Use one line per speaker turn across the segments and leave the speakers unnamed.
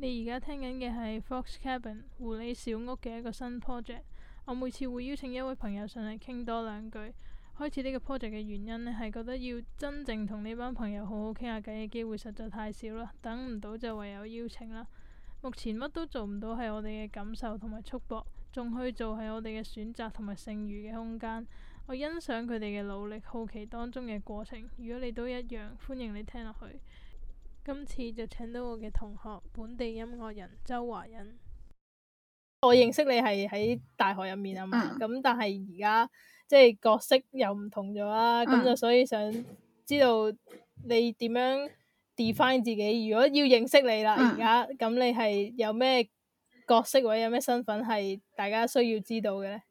你而家聽緊嘅係 Fox Cabin 狐狸小屋嘅一個新 project。我每次會邀請一位朋友上嚟傾多兩句。開始呢個 project 嘅原因呢，係覺得要真正同呢班朋友好好傾下偈嘅機會實在太少啦，等唔到就唯有邀請啦。目前乜都做唔到係我哋嘅感受同埋束縛，仲去做係我哋嘅選擇同埋剩餘嘅空間。我欣賞佢哋嘅努力，好奇當中嘅過程。如果你都一樣，歡迎你聽落去。今次就請到我嘅同學，本地音樂人周華欣。我認識你係喺大學入面啊嘛，咁但係而家即係角色又唔同咗啦，咁就所以想知道你點樣 define 自己。如果要認識你啦，而家咁你係有咩角色或者有咩身份係大家需要知道嘅呢？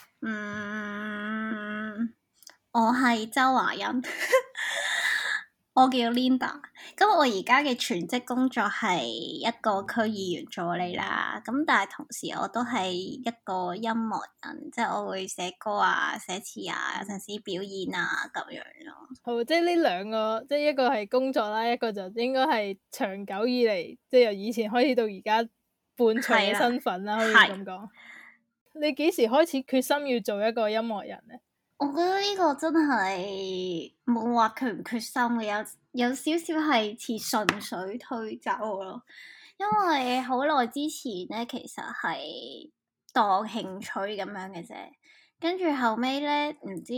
我係周華欣。我叫 Linda，咁我而家嘅全職工作係一個區議員助理啦，咁但係同時我都係一個音樂人，即係我會寫歌啊、寫詞啊，有陣時表演啊咁樣咯。好，
即係呢兩個，即係一個係工作啦，一個就應該係長久以嚟，即係由以前開始到而家伴隨嘅身份啦，可以咁講。你幾時開始決心要做一個音樂人呢？
我覺得呢個真係冇話決唔決心嘅，有少少係似順水推舟咯。因為好耐之前咧，其實係當興趣咁樣嘅啫。跟住後尾咧，唔知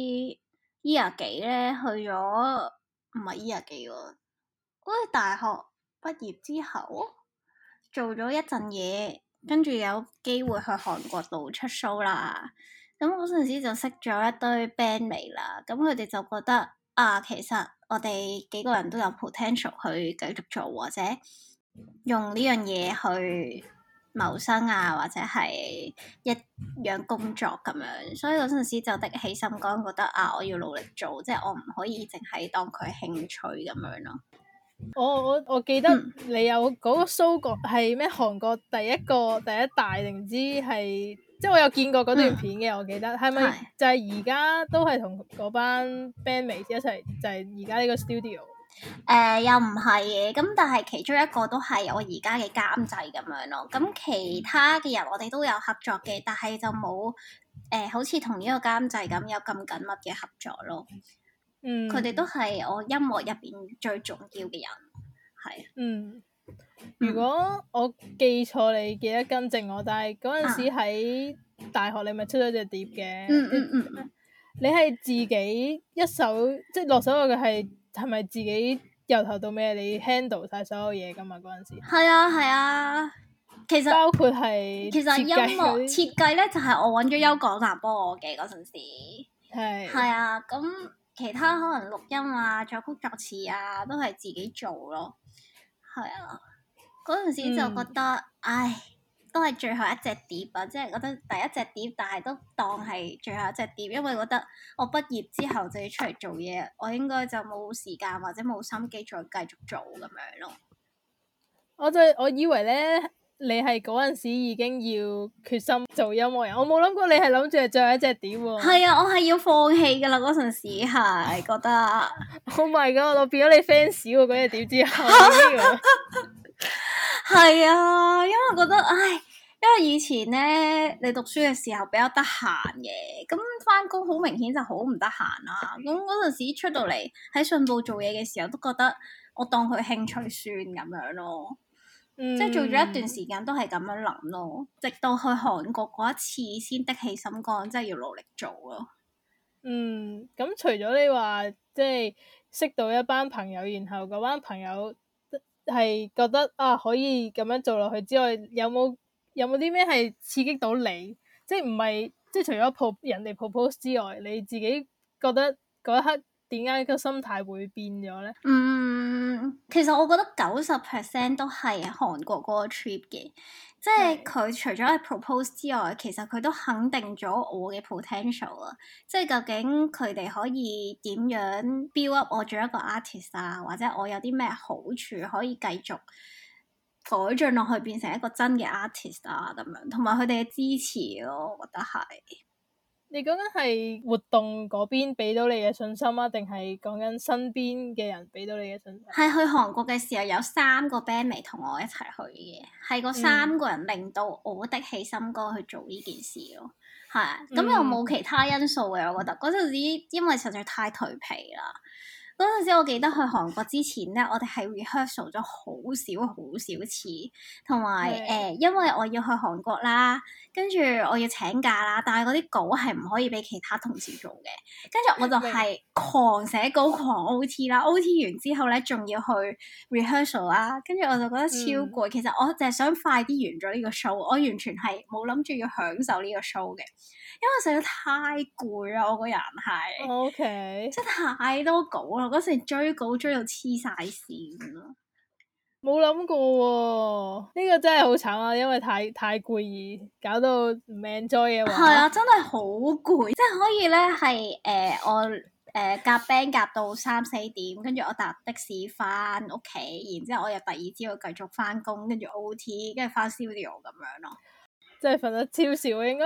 year 幾咧去咗，唔係 year 幾喎。好似大學畢業之後做咗一陣嘢，跟住有機會去韓國度出 show 啦。咁嗰陣時就識咗一堆 bandmate 啦，咁佢哋就覺得其實我哋幾個人都有 potential 去繼續做，或者用呢樣嘢去謀生啊，或者係一樣工作咁樣，所以嗰陣時就的起心肝，覺得我要努力做，即係我唔可以淨係當佢興趣咁樣咯。
我記得你有嗰個 show 過係咩？韓國第一大定唔知係，即係我有見過嗰段片嘅，我記得係咪就係而家都係同嗰班 bandmate 一齊，就係而家呢個 studio？
又唔係嘅，咁但係其中一個都係我而家嘅監製咁樣咯。咁其他嘅人我哋都有合作嘅，但係就冇好似同呢個監製咁有咁緊密嘅合作咯。佢哋都係我音樂入邊最重要嘅人，係。
如果我記錯，你記得更正我，但係嗰陣時喺大學你咪出咗隻碟嘅。你係自己一手即係落手嘅，係咪自己由頭到尾你 handle 晒所有嘢噶嘛？嗰陣時
係啊，其實
包括係
其實音樂設計咧就係我揾咗邱港南幫我嘅嗰陣時。係啊，咁其他可能錄音啊、作曲作詞啊都係自己做咯。係啊，嗰陣時就覺得，都係最後一隻碟啊！即係覺得第一隻碟，但係都當係最後一隻碟，因為覺得我畢業之後就要出嚟做嘢，我應該就冇時間或者冇心機再繼續做咁樣咯。
我以為咧，你係嗰陣時已經要決心做音樂人，我冇諗過你係諗住係最後一隻碟喎。
係啊，我係要放棄噶啦，嗰陣時係覺得。
Oh my god！我變咗你 fans 喎，嗰隻碟之後。
係啊，因為覺得因為以前咧，你讀書嘅時候比較得閒嘅，咁翻工好明顯就好唔得閒啦。咁嗰陣時出到嚟喺信報做嘢嘅時候，都覺得我當佢興趣算咁樣咯。即係做咗一段時間都係咁樣諗咯，直到去韓國嗰一次先的起心肝，真係要努力做咯。
咁除咗你話即係識到一班朋友，然後嗰班朋友係覺得可以咁樣做落去之外，有冇啲咩係刺激到你？即係唔係即係除咗人哋 propose 之外，你自己覺得嗰一刻點解個心態會變咗咧？
其實我覺得90% 都係韓國嗰個 trip 嘅，即係佢除咗係 propose 之外，其實佢都肯定咗我嘅 potential 啊！即係究竟佢哋可以點樣 build up 我做一個 artist 啊，或者我有啲咩好處可以繼續改進落去變成一個真嘅 artist 啊咁樣，同埋佢哋嘅支持咯，我覺得係。
你講緊係活動嗰邊俾到你嘅信心啊，定係講緊身邊嘅人俾到你嘅信心？
係去韓國嘅時候有3個 bandmate 同我一齊去嘅，係嗰3個人令到我的起心肝去做呢件事咯。係啊，咁又冇其他因素嘅，我覺得嗰陣時因為實在太頹皮啦。嗰陣時我記得去韓國之前咧，我哋係 rehearsal 咗好少次，同埋因為我要去韓國啦，跟住我要請假啦，但係嗰啲稿係唔可以俾其他同事做嘅，跟住我就係狂寫稿狂 OT 啦，OT 完之後咧仲要去 rehearsal 啦，跟住我就覺得超攰。其實我淨係想快啲完咗呢個 show，我完全係冇諗住要享受呢個 show 嘅。因為實在太攰啦，我個人係
，OK，
即係太多稿啦，嗰時追稿追到黐晒線啦。
冇諗過喎，呢個真係好慘啊！因為太攰而搞到唔 enjoy 嘅話，
係啊，真係好攰，即係可以咧係我夾 band 夾到3、4點，跟住我搭的士翻屋企，然之後我又第二朝繼續翻工，跟住 OT，跟住翻 studio 咁樣咯。
真係瞓得超少，應該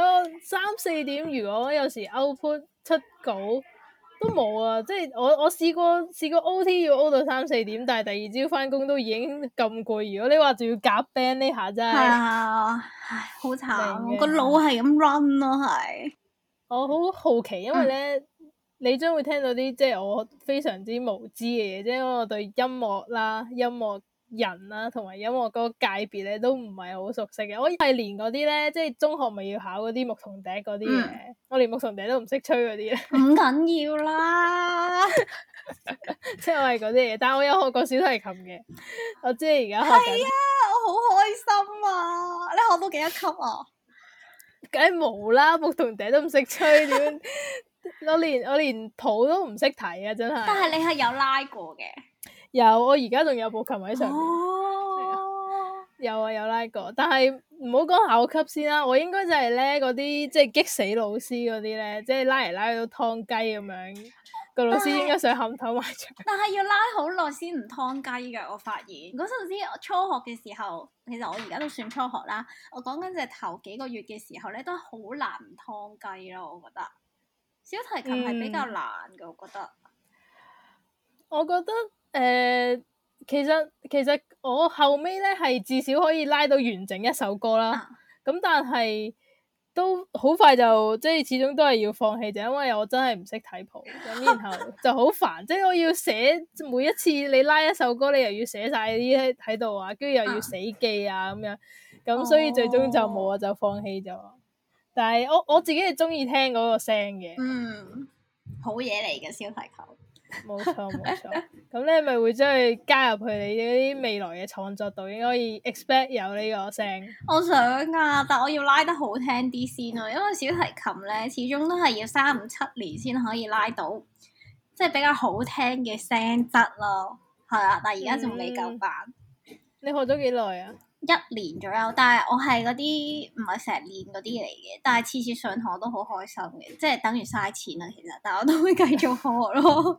3、4點。如果有時 output 出稿都冇啊，即係我試過 OT 要 O 到3、4點，但係第二朝翻工都已經咁攰。如果你話仲要夾 band 呢下真係，
唉，好慘，我個腦係咁 run 咯，係。
我好好奇，因為咧，你將會聽到啲即係我非常之無知嘅嘢，即係因為我對音樂啦、音樂人啦，同埋音樂嗰個界別咧都唔係好熟悉嘅。我係連嗰啲咧，即係中學咪要考嗰啲牧童笛嗰啲嘅，我連牧童笛都唔識吹嗰啲咧。
唔緊要啦，
即係我係嗰啲嘢，但係我有學過小提琴嘅。我知你而家學緊。
係啊，我好開心啊！你學到幾多級啊？
梗係冇啦，牧童笛都唔識吹，點？我連譜都唔識睇啊！真係。
但係你係有拉過嘅。
有，我而家仲有部琴喺上面。
哦。
有啊，有拉過，但係唔好講考級先啦。我應該就係咧嗰啲即係激死老師嗰啲咧，即係拉嚟拉去都劏雞咁樣。個老師應該想冚頭埋牆。
但係要拉好耐先唔劏雞㗎，我發現嗰陣時我初學嘅時候，其實我而家都算初學啦。我講緊隻頭幾個月嘅時候咧，都好難唔劏雞咯。我覺得小提琴係比較難嘅，我覺得。
我覺得其實我後尾咧係至少可以拉到完整一首歌啦。咁但係都好快就即係始終都係要放棄，就因為我真係唔識睇譜，咁然後就好煩。即係我要寫每一次你拉一首歌，你又要寫晒啲喺度啊，跟住又要死記啊咁樣，咁所以最終就冇啊，就放棄咗。但係我自己係中意聽嗰個聲嘅。
好嘢嚟嘅小提琴。
冇錯，咁你咪會將佢加入去你嗰啲未來嘅創作度，應該可以 expect 有呢個聲。
我想啊，但我要拉得好聽啲先咯，因為小提琴咧始終都係要3、5、7年先可以拉到，即係比較好聽嘅聲質咯。係啊，但係而家仲未夠班。
你學咗幾耐啊
？1年左右，但係我係嗰啲唔係成日練嗰啲嚟嘅，但係次次上堂都好開心嘅，即係等於嘥錢啦，其實，但係我都會繼續學咯。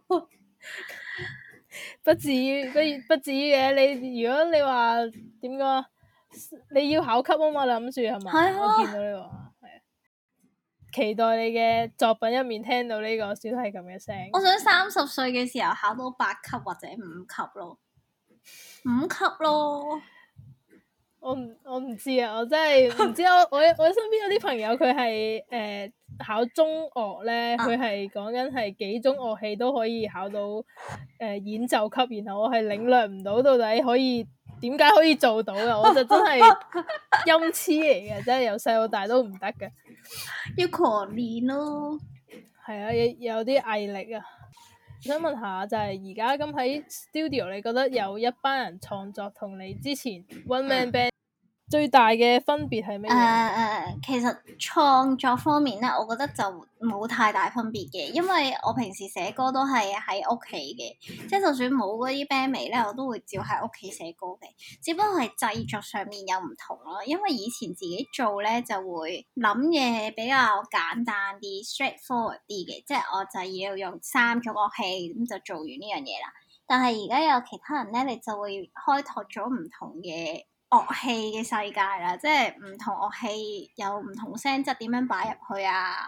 不至於嘅，你如果你話點講，你要考級啊嘛，諗住係嘛？
係啊。
我見到呢個係啊，期待你嘅作品入面聽到呢個小提琴嘅聲。
我想30歲嘅時候考到8級或者5級咯，5級咯。
我唔知啊，我真係唔知。我身邊有啲朋友佢係考中樂咧，佢係講緊係幾種樂器都可以考到演奏級，然後我係領略唔到到底點解可以做到嘅，我就真係陰痴嚟嘅，真係由細到大都唔得嘅。
要狂練咯。
係啊，有啲毅力啊。我想問下，就係而家咁喺 studio， 你覺得有一班人創作同你之前 one man band 最大嘅分別係咩嘢？
其實創作方面咧，我覺得就冇太大分別嘅，因為我平時寫歌都係喺屋企嘅，即係就算冇嗰啲 bandmate 咧，我都會照喺屋企寫歌嘅，只不過係製作上面有唔同咯。因為以前自己做咧就會諗嘢比較簡單啲 straightforward 啲嘅，即係我就要用3種樂器咁就做完呢樣嘢啦。但係而家有其他人咧，你就會開拓咗唔同嘅樂器嘅世界啦，即係唔同樂器有唔同聲質點樣擺入去啊，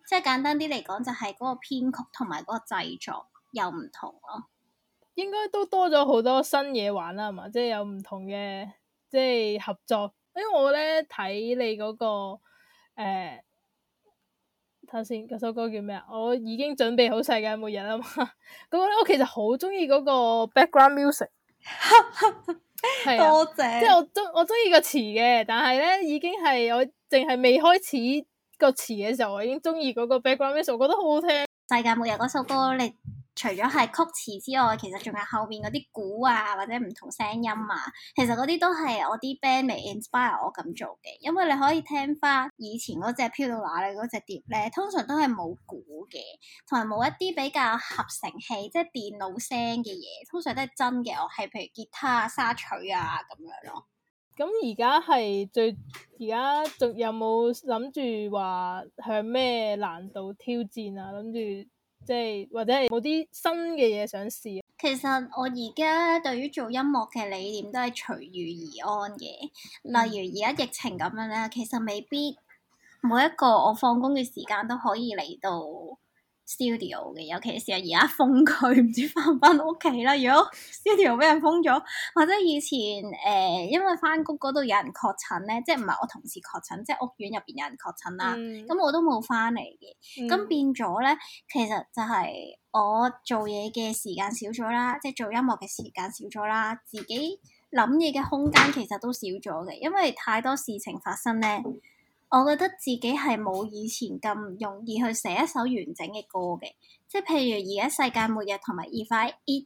即係簡單啲嚟講，就係嗰個編曲同埋嗰個製作又唔同咯。
應該都多咗好多新嘢玩啦，係嘛？即係有唔同嘅即係合作。因為我咧睇你嗰個睇下先，嗰首歌叫咩啊？我已經準備好世界末日啦嘛。嗰個咧，我其實好中意嗰個 background music。係啊，
多謝。
即係我中意個詞嘅，但係咧已經係我淨係未開始個詞嘅時候，我已經中意嗰個 background music，我覺得好好聽。
世界末日嗰首歌，你除咗係曲詞之外，其實仲有後面嗰啲鼓啊，或者唔同聲音啊，其實嗰啲都係我啲 band 嚟 inspire 我咁做嘅。因為你可以聽翻以前嗰隻飄到哪裏嗰隻碟咧，通常都係冇鼓嘅，同埋冇一啲比較合成器，即係電腦聲嘅嘢，通常都係真嘅樂器，譬如吉他啊、沙錘啊咁樣咯。
咁而家仲有冇諗住話向咩難度挑戰啊？諗住即係或者係冇啲新嘅嘢想試啊？
其實我而家對於做音樂嘅理念都係隨遇而安嘅。例如而家疫情咁樣咧，其實未必每一個我放工嘅時間都可以嚟到 studio 嘅，尤其是係而家封區，唔知翻唔翻屋企啦。如果 studio 俾人封咗，或者以前因為翻工嗰度有人確診咧，即係唔係我同事確診，即係屋苑入邊有人確診啦，咁我都冇翻嚟嘅。咁變咗咧，其實就係我做嘢嘅時間少咗啦，即係做音樂嘅時間少咗啦，自己諗嘢嘅空間其實都少咗嘅，因為太多事情發生咧。我覺得自己係冇以前咁容易去寫一首完整嘅歌嘅，即係譬如而家世界末日同埋 If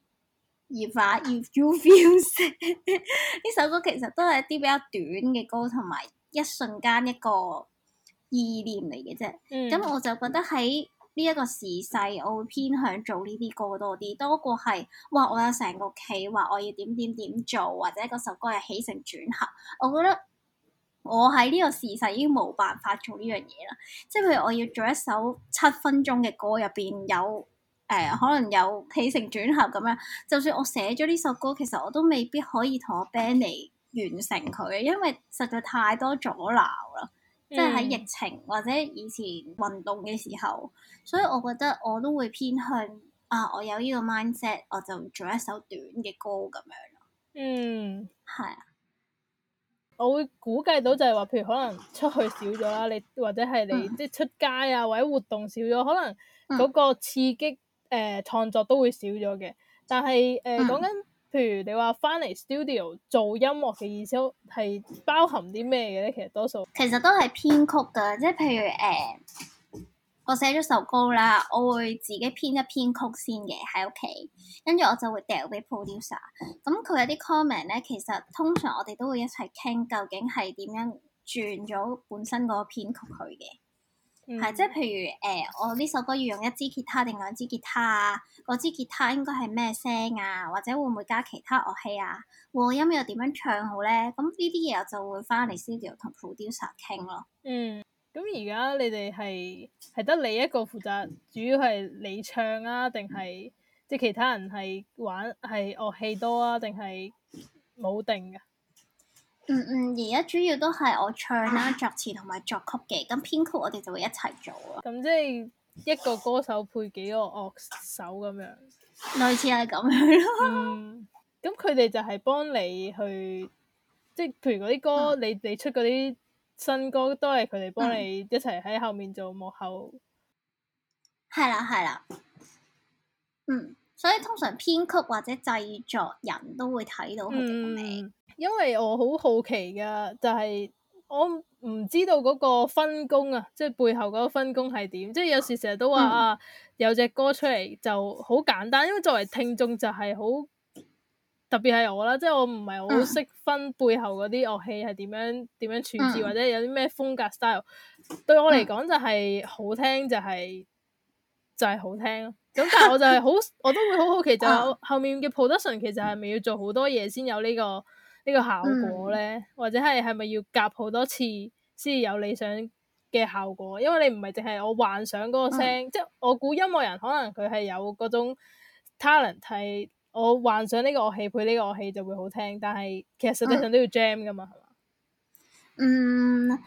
You Feel Sad 呢首歌其實都係一啲比較短嘅歌，同埋一瞬間一個意念嚟嘅啫。咁我就覺得喺呢一個時勢，我會偏向做呢啲歌多啲，多過係哇我有成個企劃，我要點點點做，或者嗰首歌係起承轉合。我覺得我喺呢個時勢已經冇辦法做呢樣嘢啦，即係譬如我要做一首7分鐘嘅歌，入邊有可能有起承轉合咁樣，就算我寫咗呢首歌，其實我都未必可以同我 band 嚟完成佢，因為實在太多阻撓啦，即係喺疫情或者以前運動嘅時候，所以我覺得我都會偏向我有呢個 mindset，我就做一首短嘅歌咁樣咯。係啊。
我會估計到就係話，譬如可能出去少咗啦，你或者係你即係出街啊，或者活動少咗，可能嗰個刺激創作都會少咗嘅。但係講緊譬如你話翻嚟 studio 做音樂嘅意思係包含啲咩嘅咧？其實多數
其實都係編曲㗎，即係譬如我寫咗首歌啦，我會自己編一編曲先嘅喺屋企，跟住我就會掉俾 producer。咁佢有啲 comment 咧，其實通常我哋都會一齊傾，究竟係點樣轉咗本身嗰個編曲佢嘅。係即係譬如我呢首歌要用一支吉他定兩支吉他啊？嗰支吉他應該係咩聲啊？或者會唔會加其他樂器啊？和音又點樣唱好咧？咁呢啲嘢我就會翻嚟 studio 同 producer 傾咯。
咁而家你哋係得你一個負責，主要係你唱啊，定係即係其他人係玩係樂器多啊，定係冇定㗎？
而家主要都係我唱啦、作詞同埋作曲嘅，咁編曲我哋就會一齊做啊。
咁即係一個歌手配幾個樂手咁樣，
類似係咁樣咯。
咁佢哋就係幫你去，即係譬如嗰啲歌，你出嗰啲新歌都係佢哋幫你一齊喺後面做幕後。
係啦。所以通常編曲或者製作人都會睇到佢哋個名。
因為我好好奇噶，就係我唔知道嗰個分工啊，即係背後嗰個分工係點。即係有時成日都話有隻歌出嚟就好簡單，因為作為聽眾就係好特別係我啦，即係我唔係好識分背後嗰啲樂器係點樣處置，或者有啲咩風格 style。對我嚟講就係好聽，就係好聽咯。咁但係我就係我都會好好奇，就係後面嘅 production 其實係咪要做好多嘢先有呢個效果咧？或者係咪要夾好多次先有理想嘅效果？因為你唔係淨係我幻想嗰個聲，即係我估音樂人可能佢係有嗰種 talent， 係我幻想呢個樂器配呢個樂器就會好聽，但係其實實際上都要 jam 噶嘛，係嘛？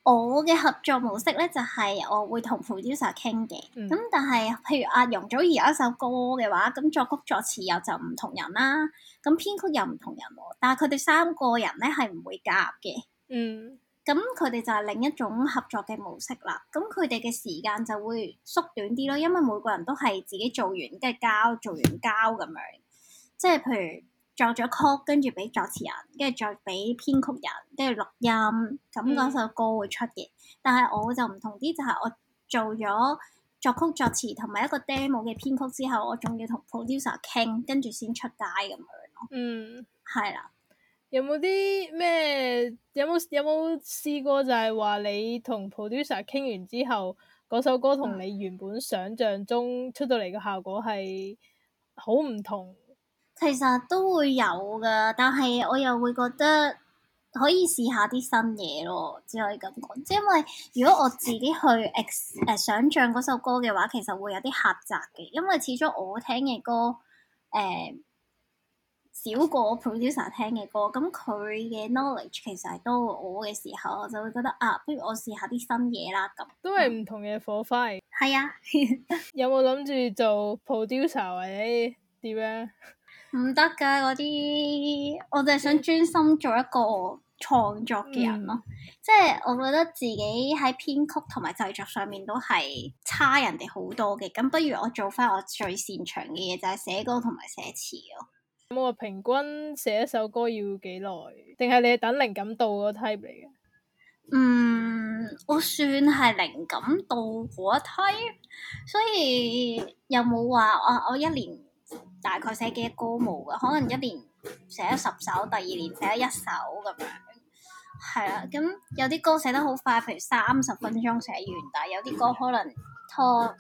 我嘅合作模式咧就係、我會同 producer 傾嘅，咁、但係譬如阿容祖兒有一首歌嘅話，咁作曲作詞又就唔同人啦，咁編曲又唔同人喎，但係佢哋三個人咧係唔會夾嘅。咁佢哋就係另一種合作嘅模式啦。咁佢哋嘅時間就會縮短啲咯，因為每個人都係自己做完跟住交，做完交咁樣。即係譬如作咗曲，跟住俾作詞人，跟住再俾編曲人，跟住錄音，咁嗰首歌會出嘅。但係我就唔同啲，就係、我做咗作曲作詞同埋一個 demo 嘅編曲之後，我仲要同 producer 傾，跟住先出街咁樣咯。係啦。
有冇啲咩？有冇試過就係話你同 producer 傾完之後，嗰首歌同你原本想像中出到嚟嘅效果係好唔同？
其實都會有㗎，但係我又會覺得可以試下啲新嘢咯，只可以咁講。即係因為如果我自己去想像嗰首歌嘅話，其實會有啲狹窄嘅，因為始終我聽嘅歌少過 producer 聽嘅歌，咁佢嘅 knowledge 其實係多過我嘅時候，我就會覺得不如我試下啲新嘢啦咁。
都係唔同嘅火花。
係啊。
有冇諗住做 producer 或者點樣？
唔得㗎嗰啲，我就係想專心做一個創作嘅人咯。即係我覺得自己喺編曲同埋製作上面都係差人哋好多嘅，咁不如我做翻我最擅長嘅嘢，就係寫歌同埋寫詞咯。
有冇話平均寫一首歌要幾耐？定係你係等靈感到嗰 type 嚟嘅？
我算係靈感到嗰一 type，所以又冇話我一年大概寫幾多歌冇㗎，可能一年寫咗10首，第二年寫咗1首咁樣。係啦，咁有啲歌寫得好快，譬如30分鐘寫完，但係有啲歌可能拖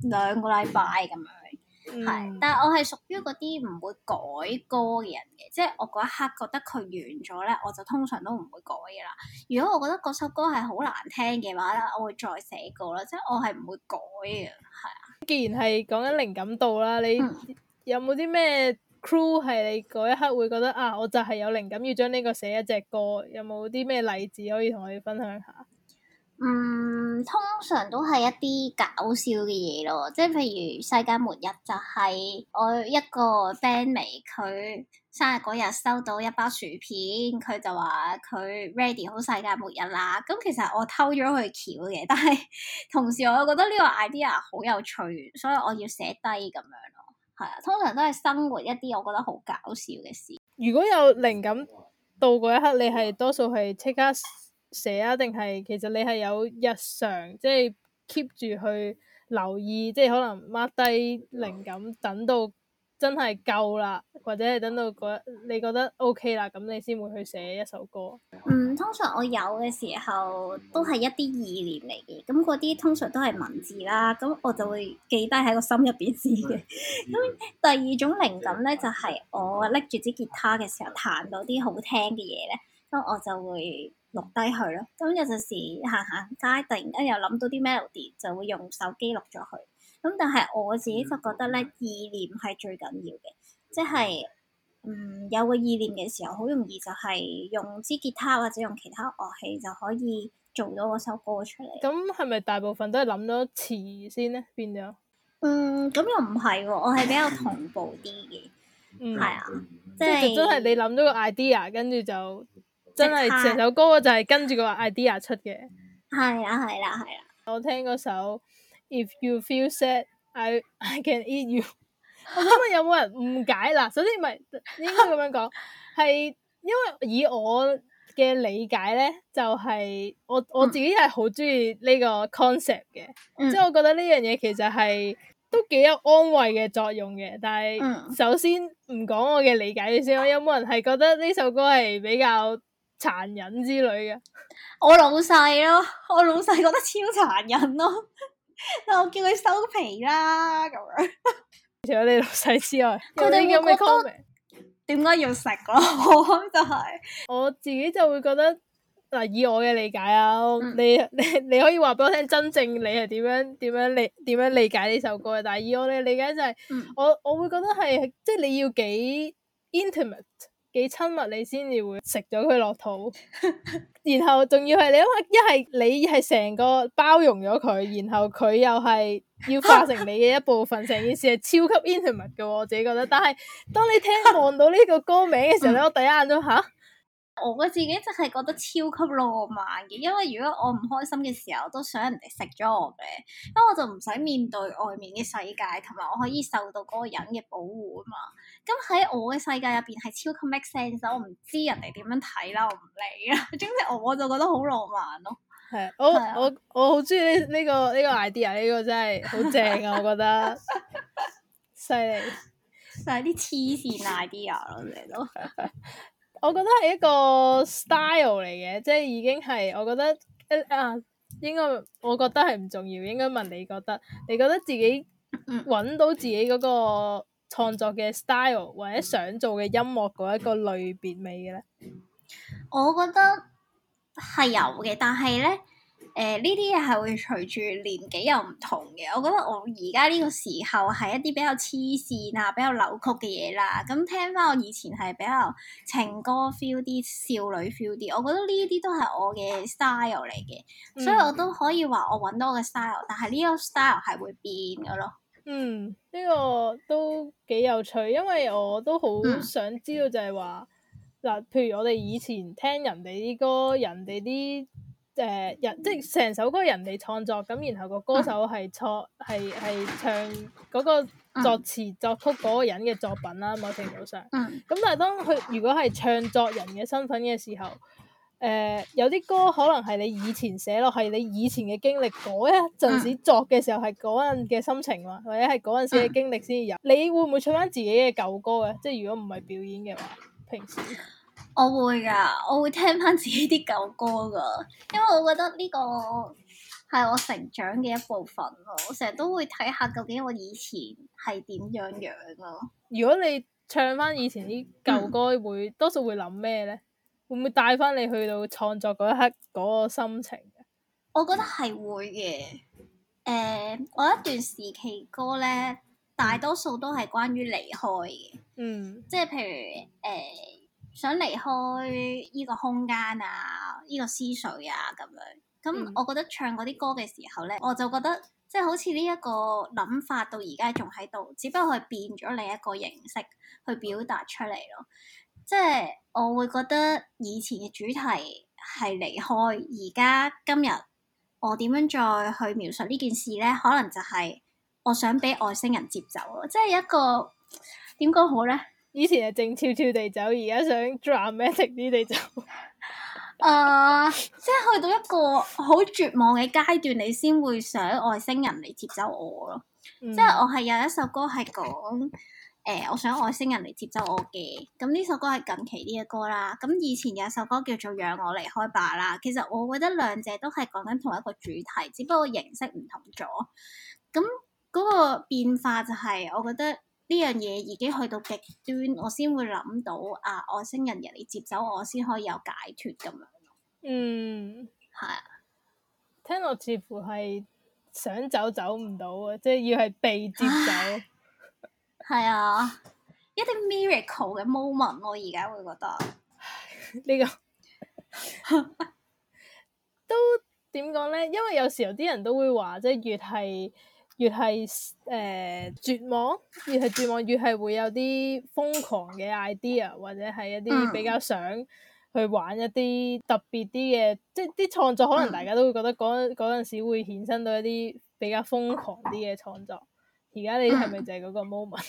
2個禮拜咁樣。但係我係屬於嗰啲唔會改歌嘅人嘅，即係我嗰一刻覺得佢完咗咧，我就通常都唔會改嘅啦。如果我覺得嗰首歌係好難聽嘅話咧，我會再寫歌啦，即係我係唔會改嘅。係啊。既然係講緊靈感度啦，你有冇啲咩 clue 係你嗰一刻會覺得我就係有靈感要將呢個寫一隻歌？有冇啲咩例子可以同我哋分享下？通常都係一啲搞笑嘅嘢咯，即係譬如世界末日就係我一個 bandmate 佢生日嗰日收到一包薯片，佢就話佢 ready 好世界末日啦。咁其實我偷咗佢橋嘅，但係同時我又覺得呢個 idea 好有趣，所以我要寫低咁樣咯。係啊，通常都係生活一啲我覺得好搞笑嘅事。如果有靈感到嗰一刻，你係多數係即刻寫啊，定係其實你係有日常即係 keep 住去留意，即係可能 mark 低靈感，等到真係夠啦，或者係等到你覺得 OK 啦，咁你先會去寫一首歌。通常我有嘅時候都係一啲意念嚟嘅，咁嗰啲通常都係文字啦，咁我就會記低喺個心入邊先嘅。咁第二種靈感咧，就係我拎住支吉他嘅時候彈到啲好聽嘅嘢咧，咁我就會錄低佢咯。咁有陣時行街，突然間又諗到啲 melody，就會用手機錄咗佢。咁但係我自己就覺得咧，意念係最緊要嘅，即係有個意念嘅時候，好容易就係用支吉他或者用其他樂器就可以做到嗰首歌出嚟。咁係咪大部分都係諗咗詞先咧？變咗？咁又唔係喎，我係比較同步啲嘅。係啊，即係真係你諗咗個 idea，跟住就真係成首歌就係跟住個 idea 出嘅。係啦。我聽嗰首 If You Feel Sad, I Can Eat You。我想問有冇人誤解啦？首先唔係應該咁樣講，係因為以我嘅理解咧，就係我自己係好中意呢個 concept 嘅，即係我覺得呢樣嘢其實係都幾有安慰嘅作用嘅。但係首先唔講我嘅理解先，有冇人係覺得呢首歌係比較殘忍之類嘅？我老細咯，我老細覺得超殘忍咯，但我叫佢收皮啦咁樣。除咗你老細之外，佢哋有咩 comment？點解要食咯？就係我自己就會覺得嗱，以我嘅理解啊，你可以話俾我聽，真正你係點樣理解呢首歌嘅？但係以我嘅理解就係，我會覺得係即係你要幾 intimate
幾親密，你先至會食咗佢落肚。然後仲要係你諗下，一係你係成個包容咗佢，然後佢又係要化成你嘅一部分，成件事係超級 intimate 嘅喎，我自己覺得。但係當你望到呢個歌名嘅時候咧，我第一眼都嚇。
我自己就係覺得超級浪漫嘅，因為如果我唔開心嘅時候，我都想人哋食咗我嘅，因為我就唔使面對外面嘅世界，同埋我可以受到嗰個人嘅保護啊嘛。咁喺我嘅世界入邊係超級 make sense，我唔知人哋點樣睇啦，我唔理啦。總之我就覺得好浪漫咯。
係，我好中意呢個 idea， 呢個真係好正啊！我覺得犀利，
就係啲黐線 idea 咯，你都。
我覺得係一個 style 嚟嘅，即係已經係我覺得應該我覺得係唔重要，應該問你覺得，你覺得自己揾到自己嗰個創作嘅 style 或者想做嘅音樂嗰一個類別未嘅咧？
我覺得係有嘅，但係咧。呢啲嘢係會隨住年紀又唔同嘅，我覺得我而家呢個時候係一啲比較黐線啊、比較扭曲嘅嘢啦。咁聽翻我以前係比較情歌 feel 啲、少女 feel 啲，我覺得呢啲都係我嘅 style 嚟嘅，所以我都可以話我揾到我嘅 style，但係呢個 style 係會變嘅咯。
呢個都幾有趣，因為我都好想知道就係話嗱，譬如我哋以前聽人哋啲歌，人哋啲。即係成首歌人哋創作，咁然後個歌手係唱嗰個作詞作曲嗰個人嘅作品啦，某程度上。咁但係當佢如果係唱作人嘅身份嘅時候，有啲歌可能係你以前寫落，係你以前嘅經歷嗰一陣時作嘅時候係嗰陣嘅心情嘛，或者係嗰陣時嘅經歷先有。你會唔會唱翻自己嘅舊歌嘅？即係如果唔係表演嘅話，平時。
我會㗎，我會聽翻自己啲舊歌㗎，因為我覺得呢個係我成長嘅一部分咯。我成日都會睇下究竟我以前係點樣咯。
如果你唱翻以前啲舊歌，多數會諗咩咧？會唔會帶翻你去到創作嗰一刻嗰個心情嘅？
我覺得係會嘅。我一段時期歌咧，大多數都係關於離開嘅。即係譬如想離開呢個空間啊，呢個思緒啊咁樣。咁我覺得唱嗰啲歌嘅時候咧，我就覺得即係好似呢一個諗法到而家仲喺度，只不過係變咗另一個形式去表達出嚟咯。即係我會覺得以前嘅主題係離開，而家今日我點樣再去描述呢件事咧？可能就係我想俾外星人接走咯，即係一個點講好咧？
以前係靜悄悄地走，而家想 dramatic 啲地走。
即係去到一個好絕望嘅階段，你先會想外星人嚟接走我咯。即係我係有一首歌係講我想外星人嚟接走我嘅。咁呢首歌係近期啲嘅歌啦。咁以前有一首歌叫做《讓我離開吧》啦。其實我覺得兩者都係講緊同一個主題，只不過形式唔同咗。咁嗰個變化就係我覺得。呢樣嘢已經去到極端，我先會諗到外星人嚟接走我，先可以有解脫咁樣。係啊，
聽落似乎係想走走唔到啊，即係要係被接走。
係啊，一啲 miracle 嘅 moment，我而家會覺得
呢個都點講咧？因為有時候啲人都會話，即係越係絕望，越係會有啲瘋狂嘅 idea，或者係一啲比較想去玩一啲特別啲嘅，即係啲創作可能大家都會覺得嗰陣時會衍生到一啲比較瘋狂啲嘅創作。而家你係咪就係嗰個 moment？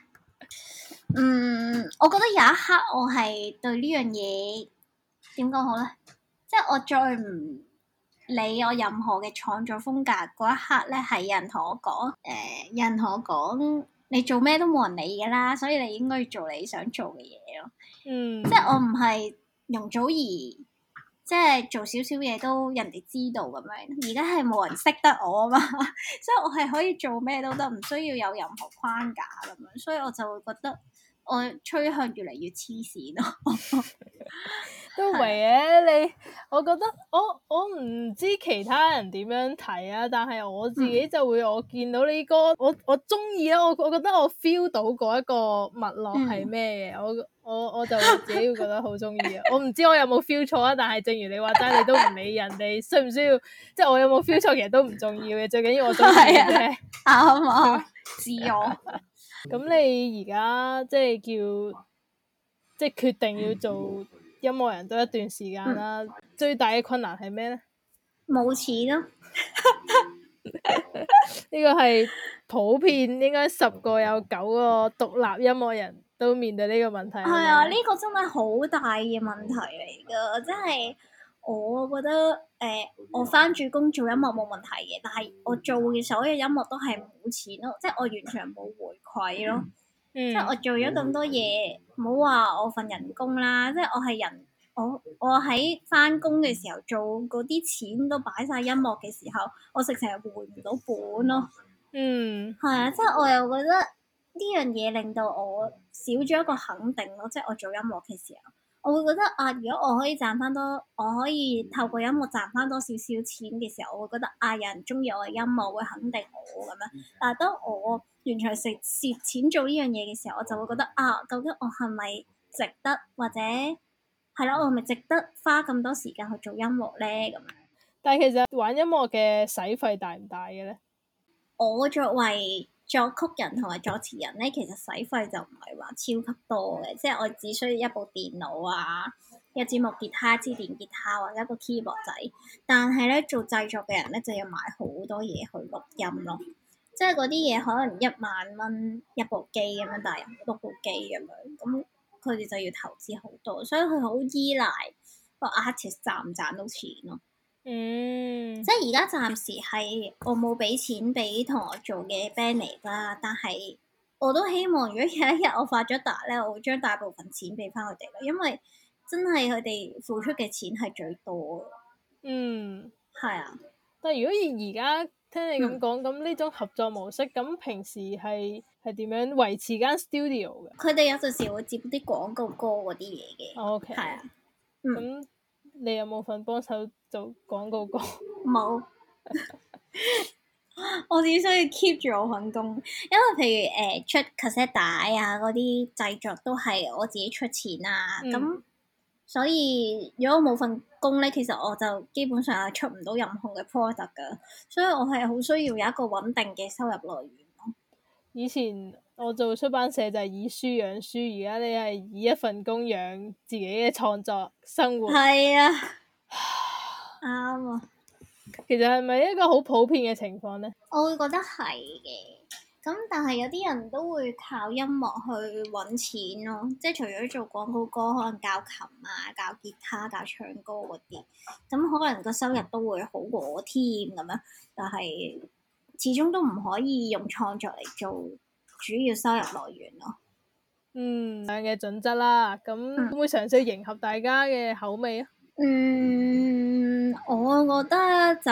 我覺得有一刻我係對呢樣嘢點講好咧，即係我再唔理我任何嘅創作風格嗰一刻咧，係有人同我講，有人同我講，你做咩都冇人理㗎啦，所以你應該要做你想做嘅嘢咯。即係我唔係容祖兒，即係做少少嘢都人哋知道咁樣。而家係冇人識得我啊嘛，所以我係可以做咩都得，唔需要有任何框架咁樣。所以我就會覺得我趨向越嚟越黐線咯。
都唔係嘅，我覺得我唔知其他人點樣睇啊，但係我自己就會我見到呢歌，我中意啊，我覺得我 feel 到嗰一個脈絡係咩嘅，我就自己會覺得好中意啊。我唔知我有冇 feel 錯啊，但係正如你話齋，你都唔理人哋需唔需要，即係我有冇 feel 錯，其實都唔重要嘅，最緊要我中意嘅啫。
啱啊，自我。
咁你而家即係即係決定要做音樂人都一段時間啦，最大嘅困難係咩咧？
冇錢咯。
呢個係普遍應該10個有9個獨立音樂人都面對呢個問題。
係啊，呢個真係好大嘅問題嚟㗎，即係我覺得我返住工做音樂冇問題嘅，但係我做嘅所有音樂都係冇錢咯，即係我完全冇回饋咯。即係我做咗咁多嘢，唔好話我份人工啦，即係我係人，我喺返工嘅時候做嗰啲錢都擺晒音樂嘅時候，我直情係回唔到本咯。係啊，即係我又覺得呢樣嘢令到我少咗一個肯定咯，即係我做音樂嘅時候，我會覺得啊，如果我可以賺翻多，我可以透過音樂賺翻多少少錢嘅時候，我會覺得啊，有人中意我嘅音樂會肯定我咁樣。但係當我完全係蝕錢做呢樣嘢嘅時候，我就會覺得啊，究竟我係咪值得，或者係咯，我係咪值得花咁多時間去做音樂咧？咁樣。
但係其實玩音樂嘅使費大唔大嘅咧？
我作為作曲人同埋作詞人咧，其實使費就唔係話超級多嘅，即係我只需要一部電腦啊、一支木吉他、一支電吉他或者一個 keyboard 仔。但係咧，做製作嘅人咧就要買好多嘢去錄音咯，即係嗰啲嘢可能10000蚊一部機咁樣，但係有6部機咁樣，咁佢哋就要投資好多，所以佢好依賴個 artist 賺唔賺到錢咯。即係而家暫時係我冇俾錢俾同我做嘅 band 嚟啦，但係我都希望如果有一日我發咗達咧，我會將大部分錢俾翻佢哋咯，因為真係佢哋付出嘅錢係最多。係啊。
但係如果而家聽你咁講，咁呢種合作模式，咁平時係點樣維持間 studio 嘅？
佢哋有陣時會接啲廣告歌嗰啲嘢嘅。
OK。
係啊。
咁你有冇份幫手做廣告歌？
冇。我只需要 keep 住我份工，因為譬如出 cassette 帶啊嗰啲製作都係我自己出錢啊，咁、所以如果我冇份工咧，其實我就基本上係出唔到任何嘅 product 噶，所以我係好需要有一個穩定嘅收入來源咯。
以前我做出版社就係以書養書，而家你係以一份工養自己嘅創作生活。
係啊，啱啊。
其實係咪一個好普遍嘅情況呢？
我會覺得係嘅，咁但係有啲人都會靠音樂去揾錢咯，即係除咗做廣告歌，可能教琴啊、教吉他、教唱歌嗰啲，咁可能個收入都會好過我添咁樣，但係始終都唔可以用創作嚟做主要收入來源咯。
咁樣嘅準則啦，咁會唔會嘗試迎合大家嘅口味啊？
我覺得就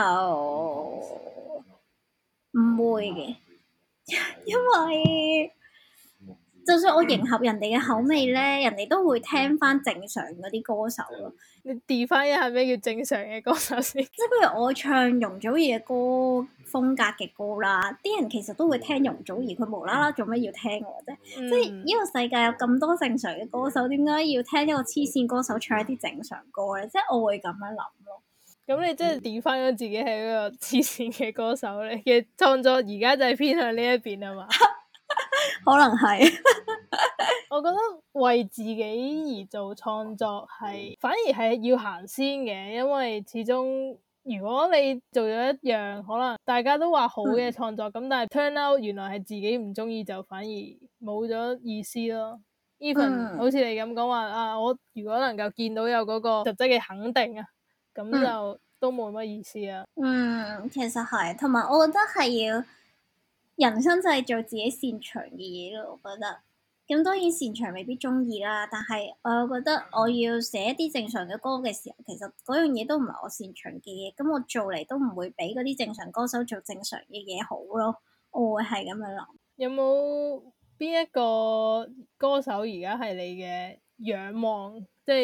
唔會嘅，因為就算我迎合人哋嘅口味咧，人哋都會聽翻正常嗰啲歌手咯。
你 define 一下咩叫正常嘅歌手先？
即係譬如我唱容祖兒嘅歌風格嘅歌啦，啲人其實都會聽容祖兒，佢無啦啦做咩要聽我啫？即係呢個世界有咁多正常嘅歌手，點解要聽一個黐線歌手唱一啲正常歌咧？即係我會咁樣諗咯。
咁你真係 define 咗自己係一個黐線嘅歌手咧？嘅創作而家就係偏向呢一邊啊嘛？
可能係。
我覺得為自己而做創作反而係要行先嘅，因為始終如果你做咗一樣可能大家都話好嘅創作，咁但係 turn out 原來係自己唔中意，就反而冇咗意思咯。Even 好似你咁講話啊，我如果能夠見到有嗰個實質嘅肯定啊，咁就都冇乜意思啊。
其實係，同埋我覺得係要人生就係做自己擅長嘅嘢咯。我覺得咁當然擅長未必中意啦，但係我又覺得我要寫一啲正常嘅歌嘅時候，其實嗰樣嘢都唔係我擅長嘅嘢，咁我做嚟都唔會比嗰啲正常歌手做正常嘅嘢好咯。我會係咁樣諗。
有冇邊一個歌手而家係你嘅仰望？即係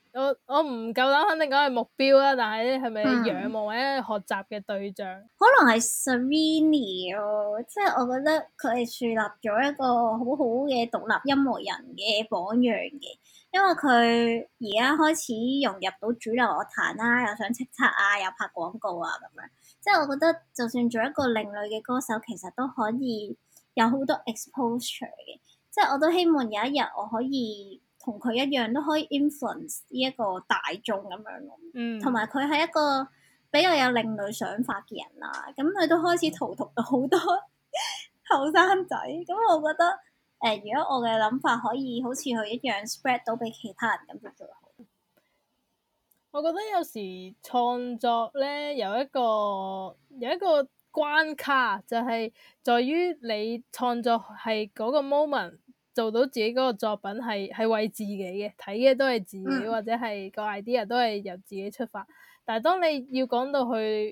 我唔夠膽肯定講係目標啦，但係咧係咪仰慕或者學習嘅對象？
可能係 Serrini 咯，即係我覺得佢係樹立咗一個好好嘅獨立音樂人嘅榜樣嘅，因為佢而家開始融入到主流樂壇啦，又上叱咤啊，又拍廣告啊咁樣，即係我覺得就算做一個另類嘅歌手，其實都可以有好多 exposure 嘅，即係我都希望有一日我可以同佢一樣都可以 influence 呢一個大眾咁樣咯，同埋佢係一個比較有另類想法嘅人啦，咁佢都開始荼毒到好多後生仔，咁我覺得如果我嘅諗法可以好似佢一樣 spread 到俾其他人，咁就最好。
我覺得有時創作咧有一個關卡，就係在於你創作係嗰個 moment 做到自己嗰個作品係為自己嘅，睇嘅都係自己，或者係個 idea 都係由自己出發。但係當你要講到去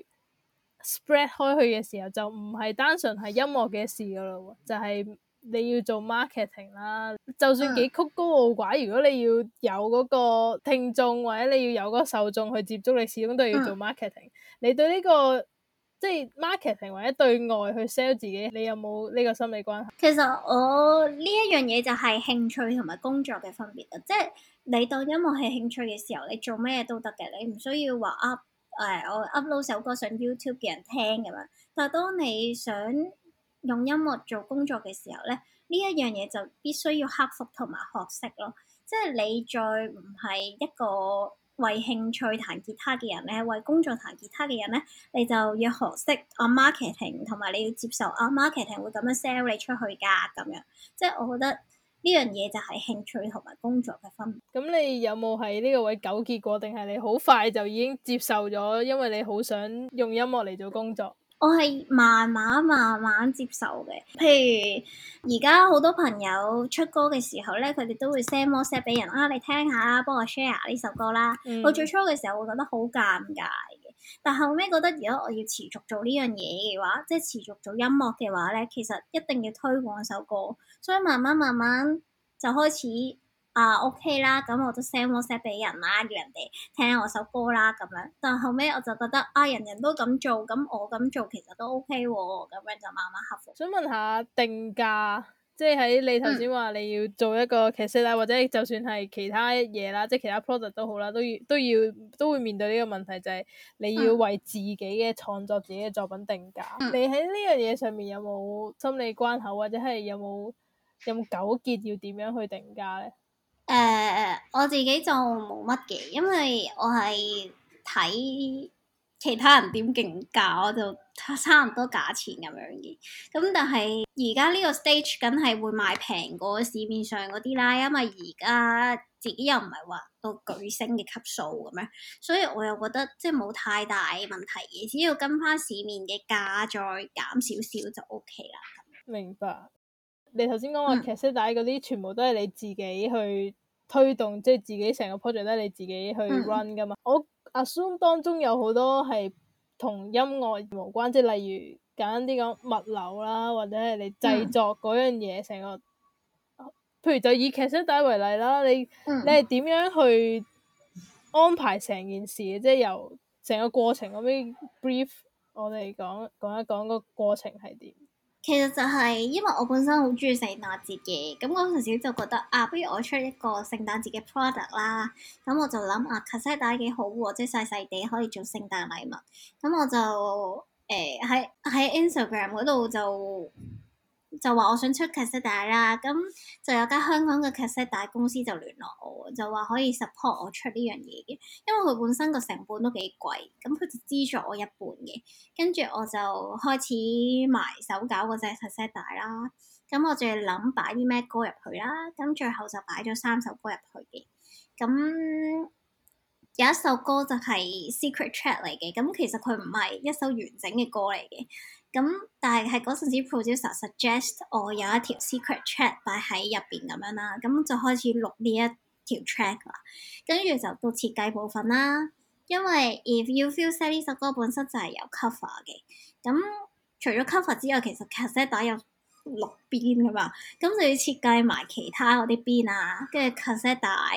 spread 開去嘅時候，就唔係單純係音樂嘅事噶咯，就係你要做 marketing 啦。就算幾曲高傲寡，如果你要有嗰個聽眾或者你要有嗰個受眾去接觸，你始終都要做 marketing。你對呢個即係 marketing 或者對外去 sell 自己，你有冇呢個心理關係？
其實我呢一樣嘢就係興趣同埋工作嘅分別啦，即係你當音樂係興趣嘅時候，你做咩都得嘅，你唔需要話我 upload 首歌上 YouTube 嘅人聽咁樣。但係當你想用音樂做工作嘅時候咧，呢一樣嘢就必須要克服同埋學識咯。即係你再唔係一個為興趣彈吉他嘅人咧，為工作彈吉他嘅人咧，你就要學識marketing，同埋你要接受marketing 會咁樣 sell 你出去㗎咁樣。即係我覺得呢樣嘢就係興趣同埋工作嘅分別。
咁你有冇喺呢個位糾結過，定係你好快就已經接受咗，因為你好想用音樂嚟做工作？
我係慢慢接受嘅，譬如而家好多朋友出歌嘅時候咧，佢哋都會 send WhatsApp 俾人你聽下，幫我 share 呢首歌啦。我最初嘅時候會覺得好尷尬嘅，但後尾覺得如果我要持續做呢樣嘢嘅話，即係持續做音樂嘅話咧，其實一定要推廣首歌，所以慢慢就開始。OK 啦，咁我都 send WhatsApp 俾人啦，叫人哋聽我首歌啦咁樣。但後尾我就覺得人人都咁做，咁我咁做其實都 OK 喎，咁樣就慢慢克服。
想問下定價，即係喺你頭先話你要做一個卡式啦，或者就算係其他嘢啦，即係其他 product 都好啦，都會面對呢個問題，就係你要為自己嘅創作、自己嘅作品定價。你喺呢樣嘢上面有冇心理關口，或者係有冇糾結要點樣去定價咧？
我自己就冇乜嘅，因為我係睇其他人點競價，我就差唔多價錢咁樣嘅。咁但係而家呢個 stage 梗係會賣平過市面上嗰啲啦，因為而家自己又唔係話到巨星嘅級數咁樣，所以我又覺得即係冇太大問題嘅，只要跟翻市面嘅價再減少少就 OK 啦。
明白。你頭先講話卡式帶嗰啲，全部都係你自己去推動，即係自己成個 project 都係你自己去 run 噶嘛。我 assume 當中有好多係同音樂無關，即係例如簡單啲講物流啦，或者係你製作嗰樣嘢成個。譬如就以卡式帶為例啦，你係點樣去安排成件事嘅？即係由成個過程咁樣 brief 我哋講一講個過程係點？
其實就係因為我本身好中意聖誕節嘅，咁嗰陣時就覺得不如我出一個聖誕節嘅 product 啦，咁我就諗卡式帶幾好喎，即係細細地可以做聖誕禮物，咁我就喺 Instagram 嗰度就話我想出卡式帶啦，咁就有間香港嘅卡式帶公司就聯絡我，就話可以 support 我出呢樣嘢嘅，因為佢本身個成本都幾貴，咁佢就資助我一半嘅，跟住我就開始埋手搞嗰隻卡式帶啦，咁我就諗擺啲咩歌入去啦，咁最後就擺咗3首歌入去嘅，咁有一首歌就係 secret track 嚟嘅，咁其實佢唔係一首完整嘅歌嚟嘅。咁但係嗰陣時 producer suggest 我有一條 secret track 擺喺入邊咁樣啦，咁就開始錄呢一條 track 啦，跟住就到設計部分啦。因為 If You Feel Sad 呢首歌本身就係有 cover 嘅，咁除咗 cover 之外，其實卡式帶有6邊噶嘛，咁就要設計埋其他嗰啲邊啊，跟住卡式帶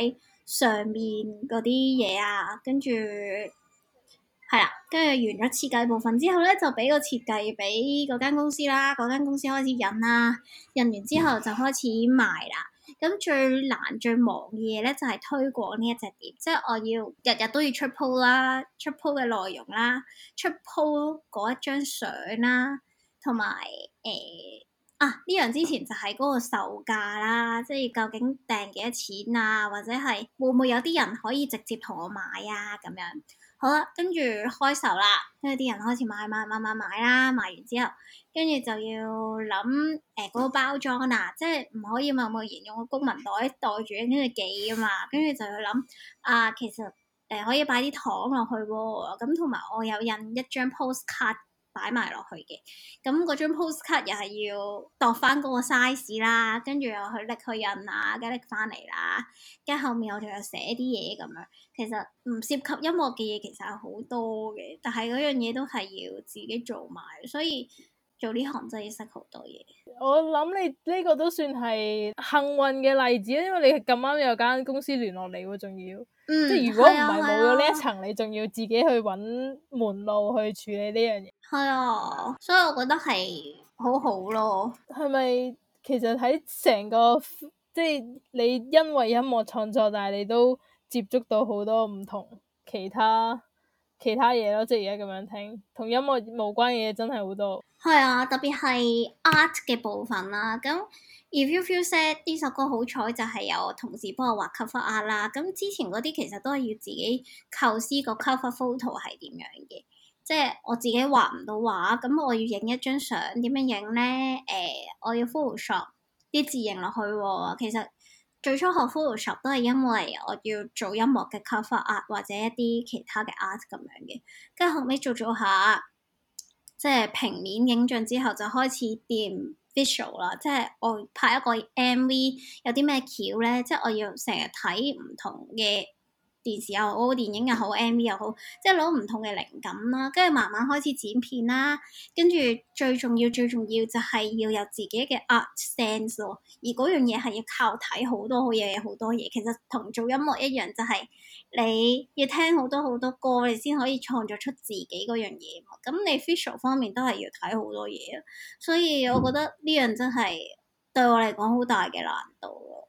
上面嗰啲嘢啊，跟住係啦，跟住完咗設計部分之後咧，就俾個設計俾嗰間公司啦，嗰間公司開始印啦，印完之後就開始賣啦。咁最難最忙嘅嘢咧，就係推廣呢一隻碟，即係我要日日都要出 po 啦，出 po 嘅內容啦，出 po 嗰一張相啦，同埋呢樣之前就係嗰個售價啦，即係究竟訂幾多錢啊，或者係會唔會有啲人可以直接同我買啊咁樣。好啦，跟住開售啦，跟住啲人開始買啦，買完之後，跟住就要諗嗰個包裝啦，即係唔可以貿貿然用個公文袋袋住跟住寄啊嘛，跟住就要諗其實可以擺啲糖落去喎，咁同埋我有印一張 postcard 擺埋落去嘅，咁嗰張 postcard 又係要度翻嗰個 size 啦，跟住又去拎去印啊，跟住拎翻嚟啦，跟住後面我仲有寫啲嘢咁樣。其實唔涉及音樂嘅嘢其實係好多嘅，但係嗰樣嘢都係要自己做埋，所以做呢行真係要識好多嘢。
我諗你呢個都算係幸運嘅例子，因為你咁啱有間公司聯絡你喎，仲要，即係如果唔係冇咗呢一層，你仲要自己去揾門路去處理呢樣嘢。
係啊，所以我覺得係好好咯。
係咪其實喺成個即係你因為音樂創作，但係你都接觸到好多唔同其他嘢咯，即係而家咁樣聽，同音樂無關嘅嘢真係好多。
係啊，特別係 art 嘅部分啦。咁 If You Feel Sad 呢首歌好彩就係有同事幫我畫 cover art 啦。咁之前嗰啲其實都係要自己構思個 cover photo 係點樣嘅，即係我自己畫唔到畫，咁我要影一張相，點樣影咧？我要 Photoshop 啲字影落去喎。其實最初學 Photoshop 都係因為我要做音樂嘅 cover art 或者一啲其他嘅 art 咁樣嘅，跟住後尾做下。即係平面影像之後就開始掂 visual 啦，即係我拍一個 MV 有啲咩橋咧，即係我要成日睇唔同嘅電視又好、電影又好、MV 又好，即係攞唔同嘅靈感啦，跟住慢慢開始剪片啦，跟住最重要就係要有自己嘅 art sense 咯，而嗰樣嘢係要靠睇好多嘢，其實同做音樂一樣，就係你要聽好多歌，你先可以創作出自己嗰樣嘢嘛。咁你 visual 方面都係要睇好多嘢，所以我覺得呢樣真係對我嚟講好大嘅難度咯。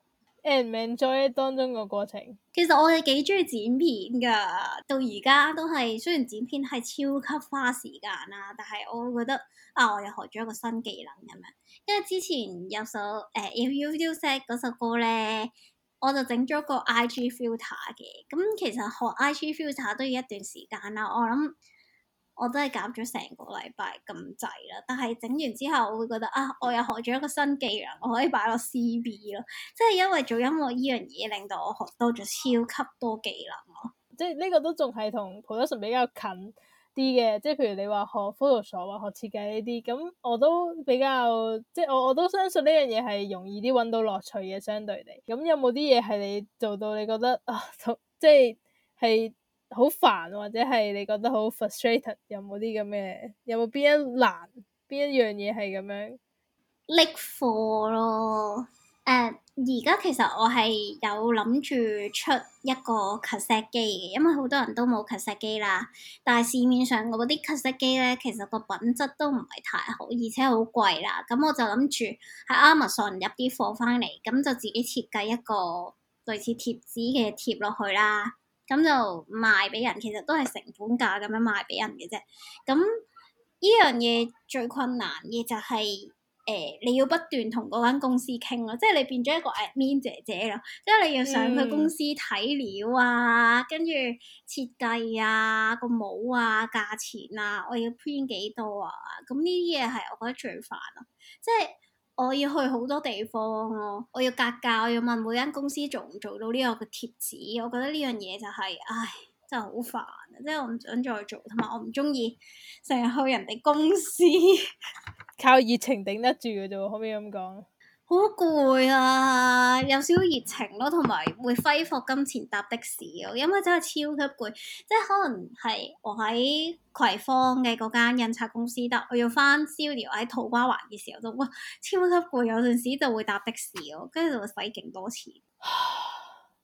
enjoy 當中個過程，
其實我哋幾中意剪片噶，到而家都係。雖然剪片係超級花時間啦，但係我會覺得我又學咗一個新技能咁樣。因為之前有首If You Feel Sad 嗰首歌咧，我就整咗個 IG filter 嘅。咁其實學 IG filter 都要一段時間啦，我諗我都係搞咗成個禮拜咁滯啦，但係整完之後我會覺得我又學咗一個新技能，我可以擺落 CV 咯，即係因為做音樂呢樣嘢令到我學多咗超級多技能咯。
即係呢個都仲係同 production 比較近啲嘅，即係譬如你話學 Photoshop 或學設計呢啲，咁我都比較即係我都相信呢樣嘢係容易啲揾到樂趣嘅相對地。咁有冇啲嘢係你做到你覺得即係好煩，或者係你覺得好 frustrated？ 有冇啲咁嘅？有冇邊一樣嘢係咁樣？
拎貨咯。而家其實我係有諗住出一個 cassette 機嘅，因為好多人都冇 cassette 機啦。但係市面上嗰啲 cassette 機咧，其實個品質都唔係太好，而且好貴啦。咁我就諗住喺 Amazon 入啲貨翻嚟，咁就自己設計一個類似貼紙嘅貼落去啦。咁就賣俾人，其實都係成本價咁樣賣俾人嘅啫。咁呢樣嘢最困難嘅就係你要不斷同嗰間公司傾咯，即係你變咗一個 admin 姐姐咯，即係你要上去公司睇料啊，跟住設計啊、個帽啊、價錢啊，我要 print 幾多啊，咁呢啲嘢係我覺得最煩咯，即係我要去好多地方咯，我要格價，我要問每間公司做唔做到呢個嘅貼紙，我覺得呢樣嘢就係真係好煩啊！即係我唔想再做，同埋我唔中意成日去人哋公司。
靠熱情頂得住嘅啫，可唔可以咁講？
好攰啊，有少少熱情咯，同埋會揮霍金錢搭的士咯，因為真係超級攰。即係可能係我喺葵芳嘅嗰間印刷公司得，我要翻 studio 喺土瓜灣嘅時候就哇超級攰，有陣時就會搭的士咯，跟住就會使勁多錢。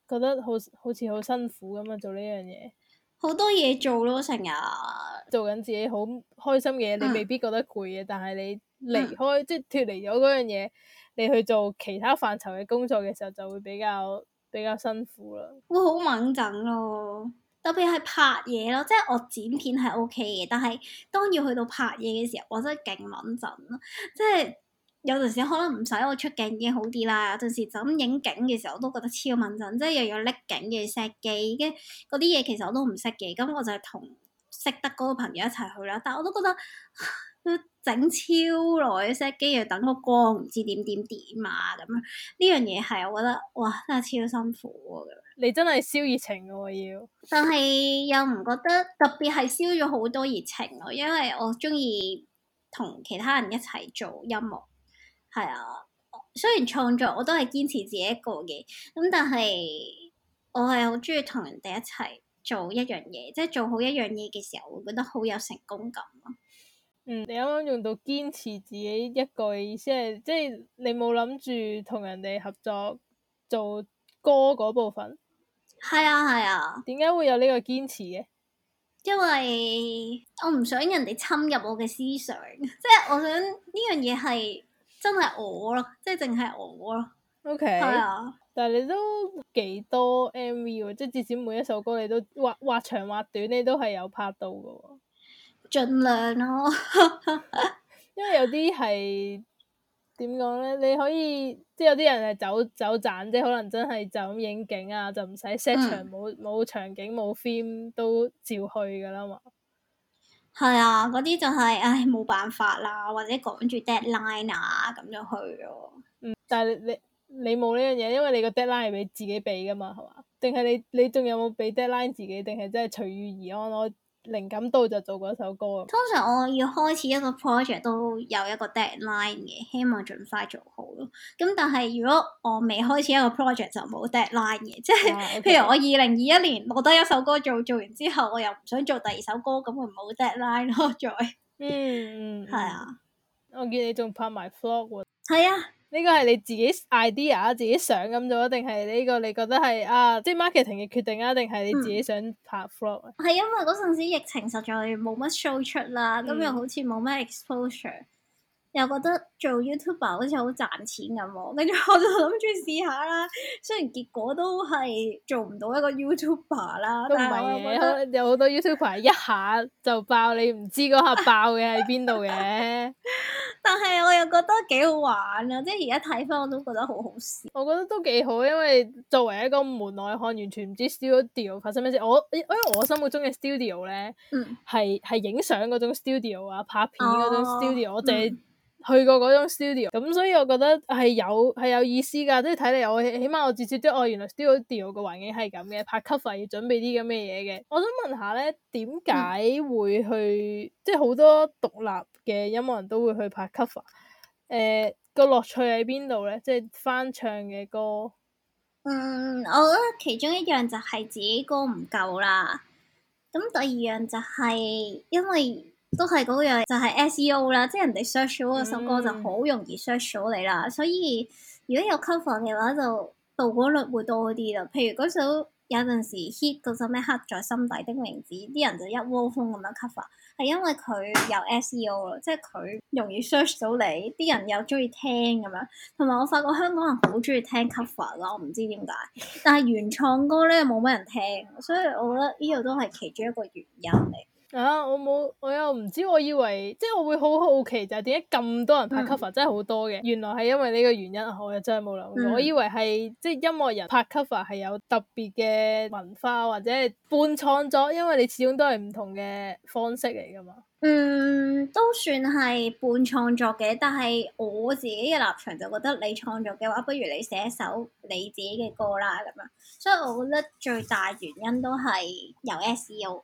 覺得好似好辛苦咁啊做呢樣嘢。
好多嘢做咯，成日
做緊自己好開心嘅嘢，你未必覺得攰嘅，但係你離開即係脫離咗嗰樣嘢，你去做其他範疇嘅工作嘅時候，就會比較辛苦啦。
會好猛整咯，特別係拍嘢咯，即係我剪片係 OK 嘅，但係當要去到拍嘢嘅時候，我真係勁猛整咯，即係有陣時可能唔使我出鏡已經好啲啦，有陣時就咁影景嘅時候我都覺得超猛整，即係又要拎景嘅 set 機，跟嗰啲嘢其實我都唔識嘅，咁我就係同識得嗰個朋友一齊去啦，但係我都覺得要整超耐嘅 set 機，要等個光唔知點啊咁樣，呢樣嘢係我覺得哇真係超辛苦喎。
你真係燒熱情嘅喎要，
但係又唔覺得特別係燒咗好多熱情咯，因為我中意同其他人一齊做音樂，係啊。雖然創作我都係堅持自己一個嘅，咁但係我係好中意同人哋一齊做一樣嘢，即係做好一樣嘢嘅時候，會覺得好有成功感咯。
你啱啱用到堅持自己一個嘅意思係，即係你冇諗住同人哋合作做歌嗰部分。
係啊係啊，
點解會有呢個堅持嘅？
因為我唔想人哋侵入我嘅思想，即係我想呢樣嘢係真係我咯，即係淨係我咯。
OK，
係啊，
但係你都幾多 MV 喎，即係至少每一首歌你都或長或短，你都係有拍到嘅喎。
盡量咯。
因為有啲係點講咧？你可以即係有啲人係走盞，即係可能真係就咁影景啊，就唔使 set 場，冇場景冇 film 都照去噶啦嘛。
係啊，嗰啲就係唉冇辦法啦，或者趕住 deadline 啊咁就去咯。
但係你冇呢樣嘢，因為你個 deadline 係俾自己俾噶嘛，係嘛？定係你仲有冇俾 deadline 自己？定係真係隨遇而安？我靈感到就做嗰首歌。
通常我要開始一個 project 都有一個 deadline 嘅，希望盡快做好咯。咁但係如果我未開始一個 project 就冇 deadline 嘅，即係譬如我2021年攞得一首歌做完之後，我又唔想做第二首歌，咁會冇 deadline 咯，再。係啊。
我見你仲拍埋 vlog 喎。
係啊。
呢個係你自己 idea 自己想咁做，定係呢個你覺得係即係 marketing 嘅決定啊？定係你自己想拍 vlog 啊？
係因為嗰陣時疫情實在冇乜 show 出啦，咁又好似冇乜 exposure，又覺得做 YouTuber 好似好賺錢咁喎，跟住我就諗住試下啦。雖然結果都係做唔到一個 YouTuber 啦，
都唔係嘅，可能有好多 YouTuber 一下就爆，你唔知嗰下爆嘅喺邊度嘅。
但係我又覺得幾好玩啊！即係而家睇翻我都覺得好好笑。
我覺得都幾好，因為作為一個門外漢，完全唔知 studio 發生咩事。因為我心目中嘅 studio 咧，係影相嗰種 studio 啊，拍片嗰種 studio，我淨係去過嗰種 studio，咁所以我覺得係有意思㗎。即係睇嚟我起碼我至少知原來 studio 個環境係咁嘅，拍 cover 要準備啲咁嘅嘢嘅。我想問下咧，點解會去即係好多獨立嘅音樂人都會去拍 cover？個樂趣喺邊度咧？即係翻唱嘅歌。
我覺得其中一樣就係自己歌唔夠啦。咁第二樣就係因為都係嗰樣，就係 SEO 啦，即係人哋 search 咗嗰首歌就好容易 search 到你啦。所以如果有 cover 嘅話，就曝光率會多啲啦。譬如嗰首有陣時 hit 嗰首咩刻在心底的名字，啲人就一窩蜂咁樣 cover，係因為佢有 SEO 咯，即係佢容易 search 到你，啲人又中意聽咁樣。同埋我發覺香港人好中意聽 cover 咯，我唔知點解，但係原創歌咧冇乜人聽，所以我覺得呢個都係其中一個原因嚟。
我又唔知，我以為即係我會好好奇就係點解咁多人拍 cover，真係好多嘅。原來係因為呢個原因，我又真係冇諗過。我以為係即係音樂人拍 cover 係有特別嘅文化或者係半創作，因為你始終都係唔同嘅方式嚟噶嘛。
都算係半創作嘅，但係我自己嘅立場就覺得你創作嘅話，不如你寫一首你自己嘅歌啦咁樣。所以我覺得最大原因都係有 SEO。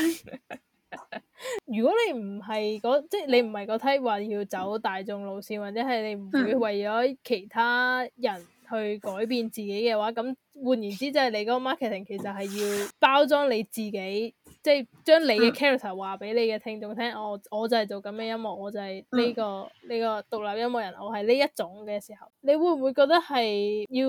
如果你唔係即係你唔係個 type 話要走大眾路線，或者係你唔會為咗其他人去改變自己嘅話，咁換言之，即係你嗰個 marketing 其實係要包裝你自己，即係將你嘅 character 話俾你嘅聽眾聽。我就係做咁嘅音樂，我就係呢個獨立音樂人，我係呢一種嘅時候，你會唔會覺得係要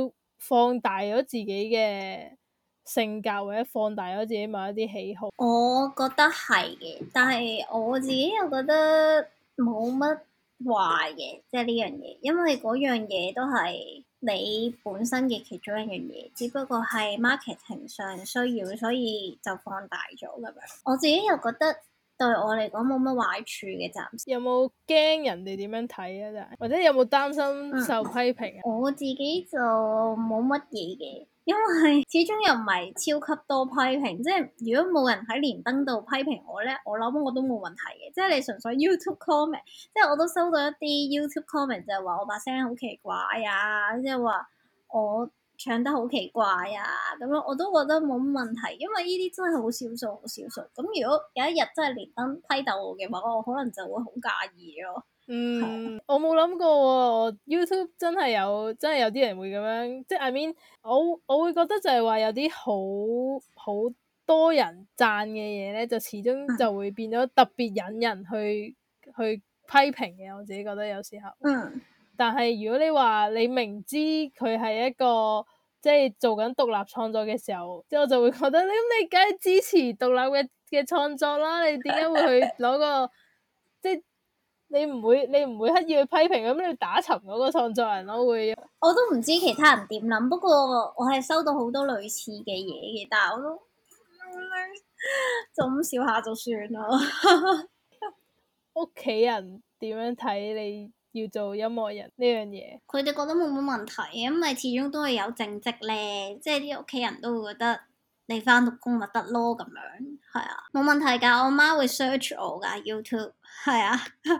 放大咗自己嘅性格，或者放大咗自己某一啲喜好。
我覺得係嘅，但係我自己又覺得冇乜壞嘅，即係呢樣嘢，因為嗰樣嘢都係你本身嘅其中一樣嘢，只不過係 marketing 上需要，所以就放大咗咁樣。我自己又覺得對我嚟講冇乜壞處嘅，暫時。
有冇驚人哋點樣睇啊？真係，或者有冇擔心受批評啊？
我自己就冇乜嘢嘅。因為始終又唔係超級多批評，即係如果冇人喺連登度批評我咧，我諗我都冇問題嘅。即係你純粹 YouTube comment，即係我都收到一啲 YouTube comment 就係話我把聲好奇怪啊，即係話我唱得好奇怪啊，咁樣我都覺得冇乜問題，因為呢啲真係好少數，好少數。咁如果有一日真係連登批鬥我嘅話，我可能就會好介意咯。
我冇諗過喎，YouTube 真係有啲人會咁樣，即係 I mean，我會覺得就係話有啲好多人讚嘅嘢咧，就始終就會變咗特別引人去批評嘅。我自己覺得有時候，但係如果你話你明知佢係一個即係做緊獨立創作嘅時候，即係我就會覺得你梗係支持獨立嘅創作啦，你點解會去攞個即係？你唔會刻意去批評咁，你打沉嗰個創作人咯，會。
我都唔知其他人點諗，不過我係收到好多類似嘅嘢嘅，但係我都就咁笑下就算啦。
屋企人點樣睇你要做音樂人呢樣嘢？
佢哋覺得冇乜問題，因為始終都係有正職咧，即係啲屋企人都會覺得你返到工咪得咯咁樣，係啊，冇問題㗎。我媽會 search 我㗎 YouTube，係啊。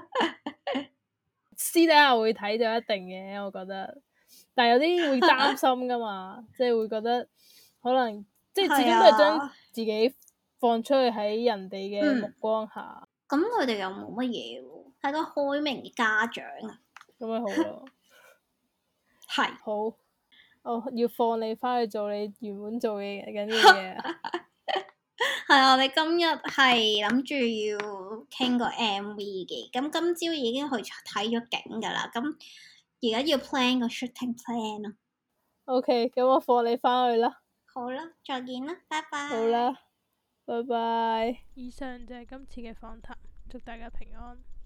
私底下會睇就一定嘅，我覺得。但係有啲會擔心㗎嘛，即係會覺得可能即係始終都係將自己放出去喺人哋嘅目光下。
咁佢哋又冇乜嘢喎，係個開明嘅家長啊。
咁咪好咯。
係。
好，我要放你返去做你原本做嘅緊啲嘢。
係啊，我哋今日係諗住要傾個 MV 嘅，咁今朝已經去睇咗景㗎啦，咁而家要 plan 個 shooting plan 咯。
OK，咁我放你返去啦。
好啦，再見啦，拜拜。
好啦，拜拜。以上就係今次嘅訪談，祝大家平安。